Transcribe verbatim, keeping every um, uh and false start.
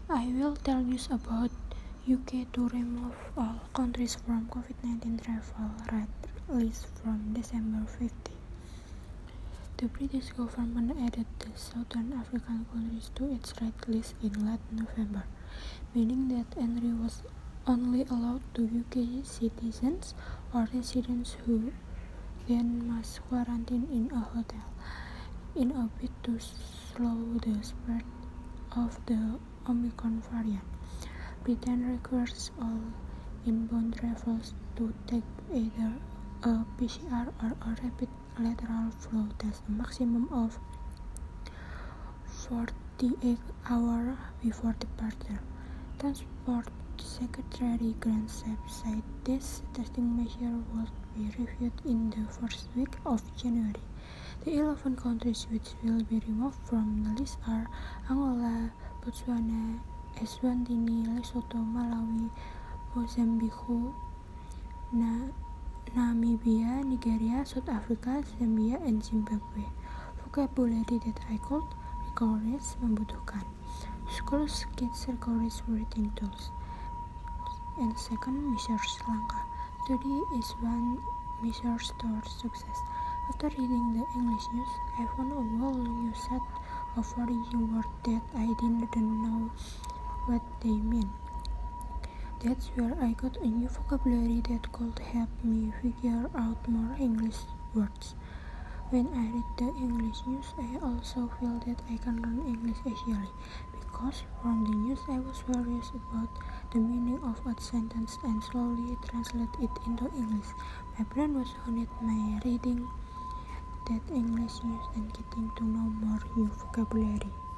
I will tell you about U K to remove all countries from COVID nineteen travel red list from December fifteenth. The British government added the Southern African countries to its red list in late November, meaning that entry was only allowed to U K citizens or residents who then must quarantine in a hotel. In a bid to slow the spread of the Omicron variant, Britain requires all inbound travelers to take either a P C R or a rapid lateral flow test a maximum of forty-eight hours before departure. Transport Secretary Grant Shapps said this testing measure would be reviewed in the first week of January. The eleven countries which will be removed from the list are Angola, Botswana, Eswatini, Lesotho, Malawi, Mozambique, Na- Namibia, Nigeria, South Africa, Zambia, and Zimbabwe. Vocabulary that I could encourage membutuhkan schools, kids encourage reading tools. And second, measures langkah. Study is one measure toward success. After reading the English news, I found a whole new set of foreign words that I didn't know what they mean. That's where I got a new vocabulary that could help me figure out more English words. When I read the English news, I also feel that I can learn English easily, because from the news I was curious about the meaning of a sentence and slowly translate it into English. My brain was on it by reading that English news and getting to know more new vocabulary.